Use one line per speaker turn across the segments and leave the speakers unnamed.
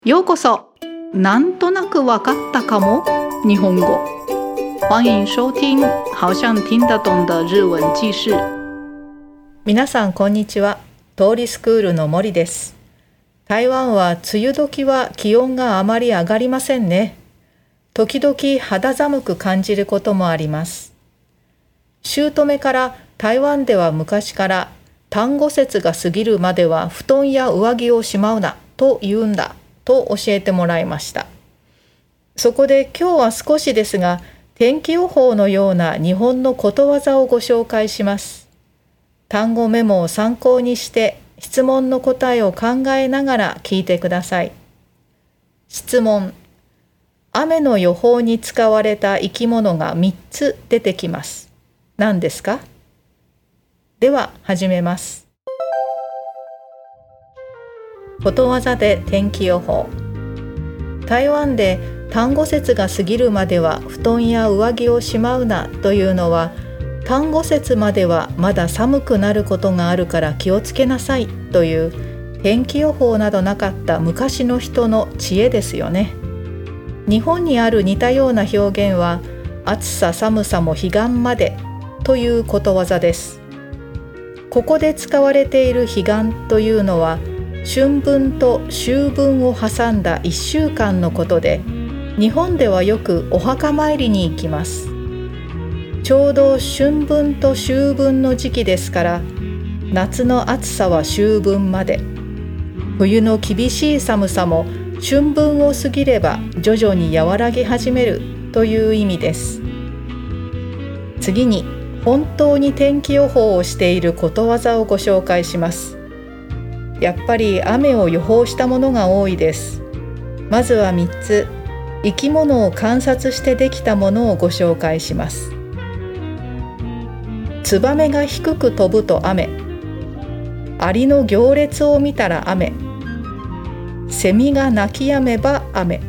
ようこそ。なんとなくわかったかも日本語。欢迎收听好像听得懂的日文記事。
皆さんこんにちは。通りスクールの森です。台湾は梅雨時は気温があまり上がりませんね。時々肌寒く感じることもあります。姑から台湾では昔から端午節が過ぎるまでは布団や上着をしまうなと言うんだと教えてもらいました。そこで今日は少しですが天気予報のような日本のことわざをご紹介します。単語メモを参考にして質問の答えを考えながら聞いてください。質問。雨の予報に使われた生き物が3つ出てきます。何ですか？では始めます。ことわざで天気予報。台湾で端午節が過ぎるまでは布団や上着をしまうなというのは、端午節まではまだ寒くなることがあるから気をつけなさいという天気予報などなかった昔の人の知恵ですよね。日本にある似たような表現は、暑さ寒さも彼岸までということわざです。ここで使われている彼岸というのは、春分と秋分を挟んだ1週間のことで、日本ではよくお墓参りに行きます。ちょうど春分と秋分の時期ですから、夏の暑さは秋分まで、冬の厳しい寒さも春分を過ぎれば徐々に和らぎ始めるという意味です。次に、本当に天気予報をしていることわざをご紹介します。やっぱり雨を予報したものが多いです。まずは3つ、生き物を観察してできたものをご紹介します。ツバメが低く飛ぶと雨、アリの行列を見たら雨、セミが鳴き止めば雨。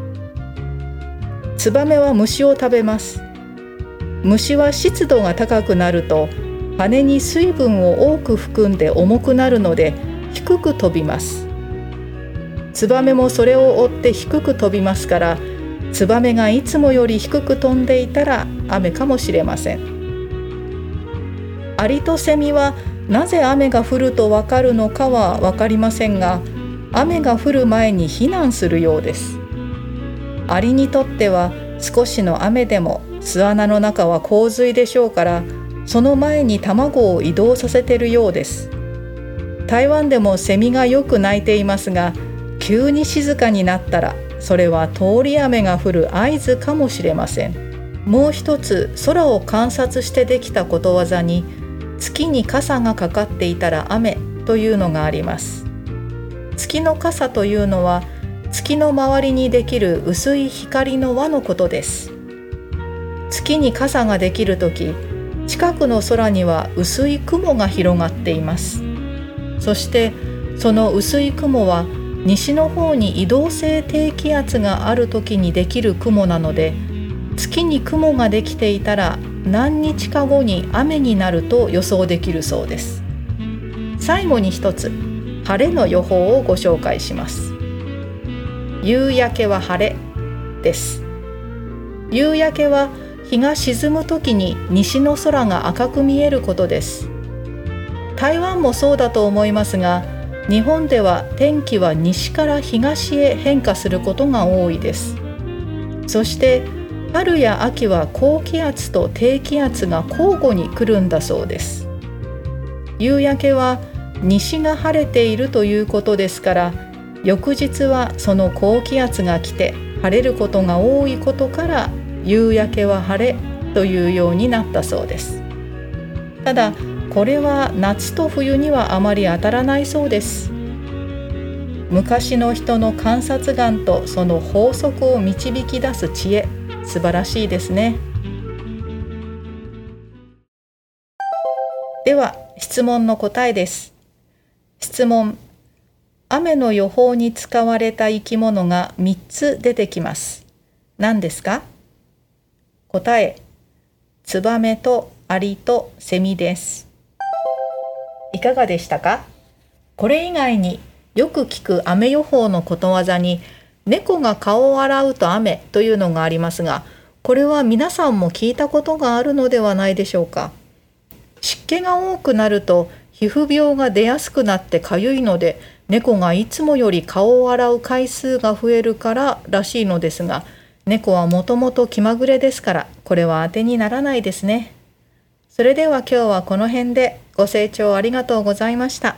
ツバメは虫を食べます。虫は湿度が高くなると羽に水分を多く含んで重くなるので低く飛びます。ツバメもそれを追って低く飛びますから、ツバメがいつもより低く飛んでいたら雨かもしれません。アリとセミはなぜ雨が降るとわかるのかはわかりませんが、雨が降る前に避難するようです。アリにとっては少しの雨でも巣穴の中は洪水でしょうから、その前に卵を移動させているようです。台湾でもセミがよく鳴いていますが、急に静かになったらそれは通り雨が降る合図かもしれません。もう一つ、空を観察してできたことわざに、月に傘がかかっていたら雨というのがあります。月の傘というのは、月の周りにできる薄い光の輪のことです。月に傘ができるとき、近くの空には薄い雲が広がっています。そしてその薄い雲は西の方に移動性低気圧があるときにできる雲なので、月に雲ができていたら何日か後に雨になると予想できるそうです。最後に一つ、晴れの予報をご紹介します。夕焼けは晴れです。夕焼けは日が沈むときに西の空が赤く見えることです。台湾もそうだと思いますが、日本では天気は西から東へ変化することが多いです。そして春や秋は高気圧と低気圧が交互に来るんだそうです。夕焼けは西が晴れているということですから、翌日はその高気圧が来て晴れることが多いことから、夕焼けは晴れというようになったそうです。ただこれは夏と冬にはあまり当たらないそうです。昔の人の観察眼とその法則を導き出す知恵、素晴らしいですね。では質問の答えです。質問。雨の予報に使われた生き物が3つ出てきます。何ですか？答え。ツバメとアリとセミです。いかがでしたか？これ以外によく聞く雨予報のことわざに、猫が顔を洗うと雨というのがありますが、これは皆さんも聞いたことがあるのではないでしょうか。湿気が多くなると皮膚病が出やすくなってかゆいので、猫がいつもより顔を洗う回数が増えるかららしいのですが、猫はもともと気まぐれですから、これは当てにならないですね。それでは今日はこの辺で。ご清聴ありがとうございました。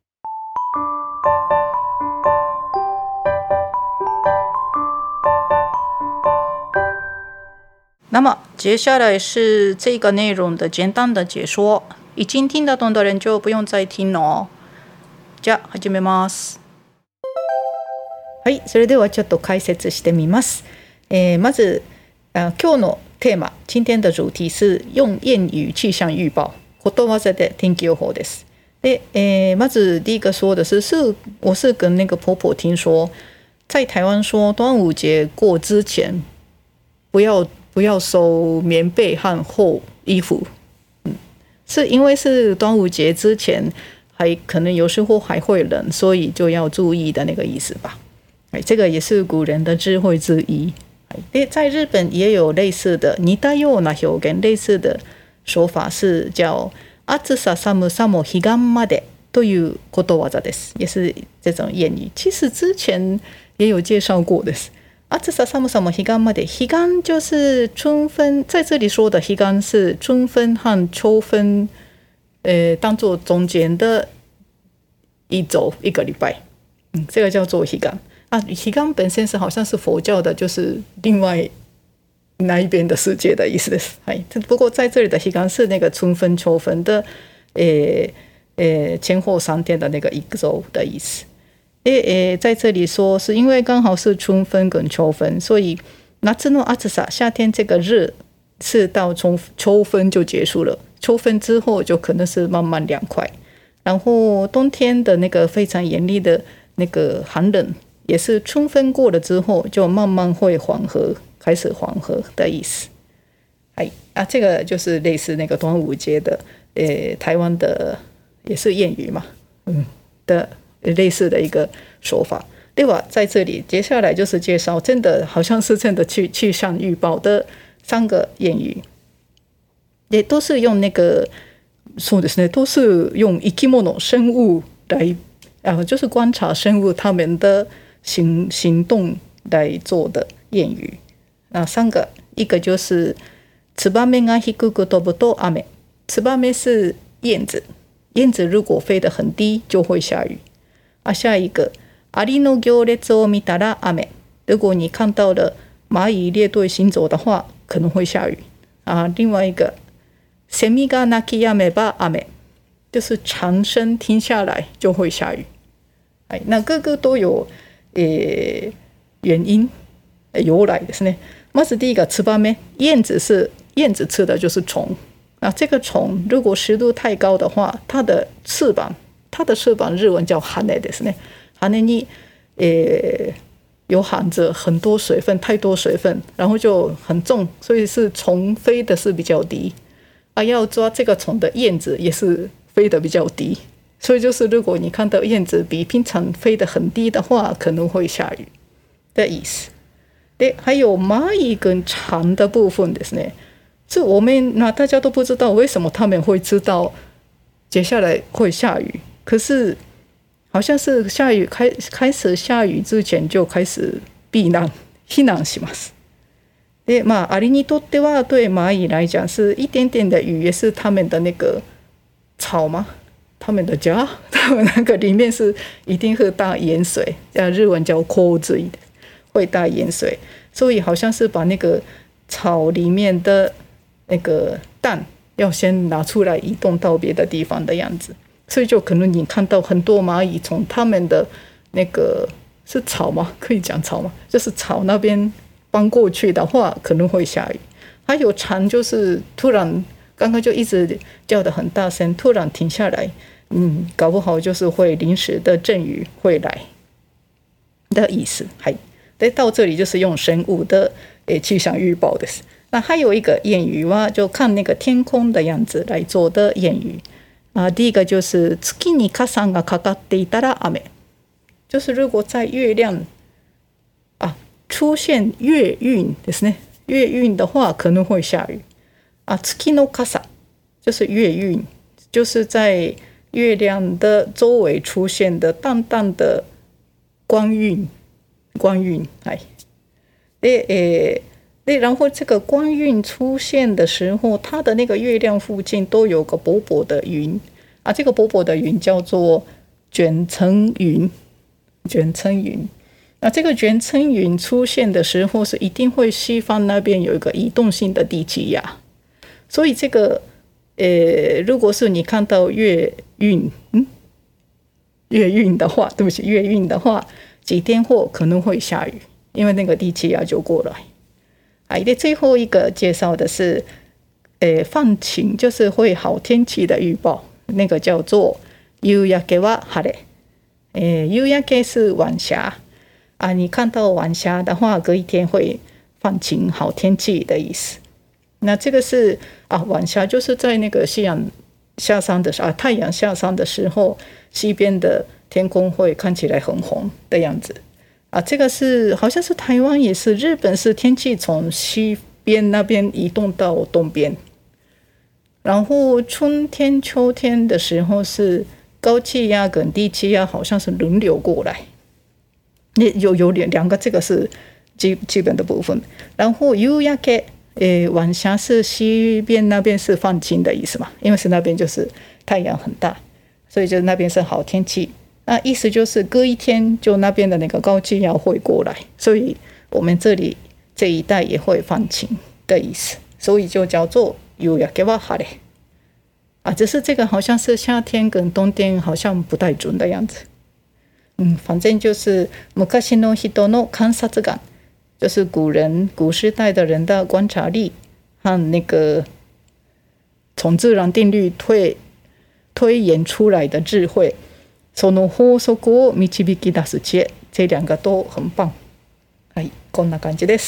那么接下来是这个内容的简单的解说，已经听得懂的人就不用再听了哦。じゃあ始めます。
はい、それではちょっと解説してみます。まず今日のテーマ、今天的主题是用谚语气象预报，ことわざで天気予報です。で、まず第一个说的是我是跟那个婆婆听说，在台湾说端午节过之前不要收棉被和厚衣服，是因为是端午节之前还可能有时候还会冷，所以就要注意的那个意思吧。这个也是古人的智慧之一。で在日本也有类似的似たような表現，类似的说法是叫暑さ寒さも彼岸までということわざです，也是这种谚语。其实之前也有介绍过的。暑さ寒さも彼岸まで，彼岸就是春分，在这里说的彼岸是春分和秋分，当做中间的一周一个礼拜，这个叫做彼岸。彼岸本身是好像是佛教的，就是另外那一边的世界的意思です。不过在这里的彼岸是那个春分秋分的前后3天的那个一周的意思。在这里说是因为刚好是春分跟秋分，所以夏の暑さ，夏天这个热是到秋分就结束了，秋分之后就可能是慢慢凉快，然后冬天的那个非常严厉的那个寒冷也是春分过了之后就慢慢会缓和，开始缓和的意思。这个就是类似那个端午节的台湾的也是谚语嘛，的类似的一个说法。对吧？在这里接下来就是介绍真的好像是真的气象预报的3个谚语，也都是用那个そうですね，都是用生き物生物来就是观察生物他们的行动来做的谚语。那3个，一个就是ツバメが低く飛ぶと雨，ツバメ是燕子，燕子如果飞得很低就会下雨。下一个アリの行列を見たら雨，如果你看到了蚂蚁列队行走的话可能会下雨。另外一个セミが鳴き止めば雨，就是蝉声停下来就会下雨。那各个都有原因由来ですね。まず第一个ツバメ，燕子吃的就是虫。这个虫如果湿度太高的话，它的翅膀日文叫羽ですね。羽に有含着很多水分，太多水分，然后就很重，所以是虫飞的是比较低。要抓这个虫的燕子也是飞得比较低，所以就是如果你看到燕子比平常飞得很低的话，可能会下雨的意思。で还有蚂蚁跟蝉的部分ですね，是我们大家都不知道为什么他们会知道接下来会下雨，可是好像是下雨开始下雨之前就开始避難します。でアリにとっては对蚂蚁来讲是一点点的雨也是他们的那个草吗？他们的家，他们那个里面是一定会大盐水，日文叫洪水，会大盐水，所以好像是把那个草里面的那个蛋要先拿出来移动到别的地方的样子，所以就可能你看到很多蚂蚁从他们的那个是草吗？可以讲草吗？就是草那边搬过去的话可能会下雨。还有蝉就是突然刚刚就一直叫得很大声，突然停下来，搞不好就是会临时的阵雨会来的意思。到这里就是用生物的气象预报です。那还有一个谚语就看那个天空的样子来做的谚语。第一个就是月に傘がかかっていたら雨， 就是如果在月亮出现月晕ですね，月晕的话可能会下雨月の傘就是月晕，就是在月亮的周围出现的淡淡的光晕。然后这个光晕出现的时候，它的那个月亮附近都有个薄薄的云这个薄薄的云叫做卷层云。那这个卷层云出现的时候，是一定会西方那边有一个移动性的低气压，所以这个如果是你看到月晕的话，对不起，月晕的话，几天后可能会下雨，因为那个低气压就过来。最后一个介绍的是放晴，就是会好天气的预报，那个叫做夕焼けは晴れ。夕焼け是晚霞你看到晚霞的话，隔一天会放晴，好天气的意思。那这个是晚霞，就是在那个夕阳下山的时候太阳下山的时候，西边的天空会看起来很红的样子这个是好像是台湾也是，日本是天气从西边那边移动到东边，然后春天秋天的时候是高气压跟低气压好像是轮流过来，有两个，这个是基本的部分。然后夕焼け晚霞是西边那边是放晴的意思嘛，因为是那边就是太阳很大，所以就那边是好天气。意思就是隔一天就那边的那个高气压会过来，所以我们这里这一带也会放晴的意思，所以就叫做夕焼けは晴れ只是这个好像是夏天跟冬天好像不太准的样子。反正就是昔の人の観察眼，就是古时代的人的观察力和那个从自然定律推演出来的智慧，その法則を導き出す知恵，这两个都很棒。こんな感じです。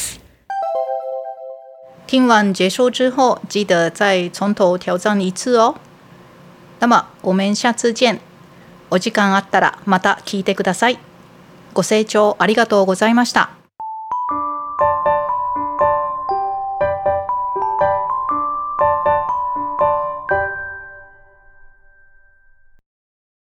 听完结束之后，记得再从头挑战一次哦。那么我们下次见。お時間あったらまた聞いてください。ご清聴ありがとうございました。